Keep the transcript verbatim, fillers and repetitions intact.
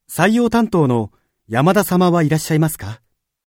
採用担当の山田様はいらっしゃいますか？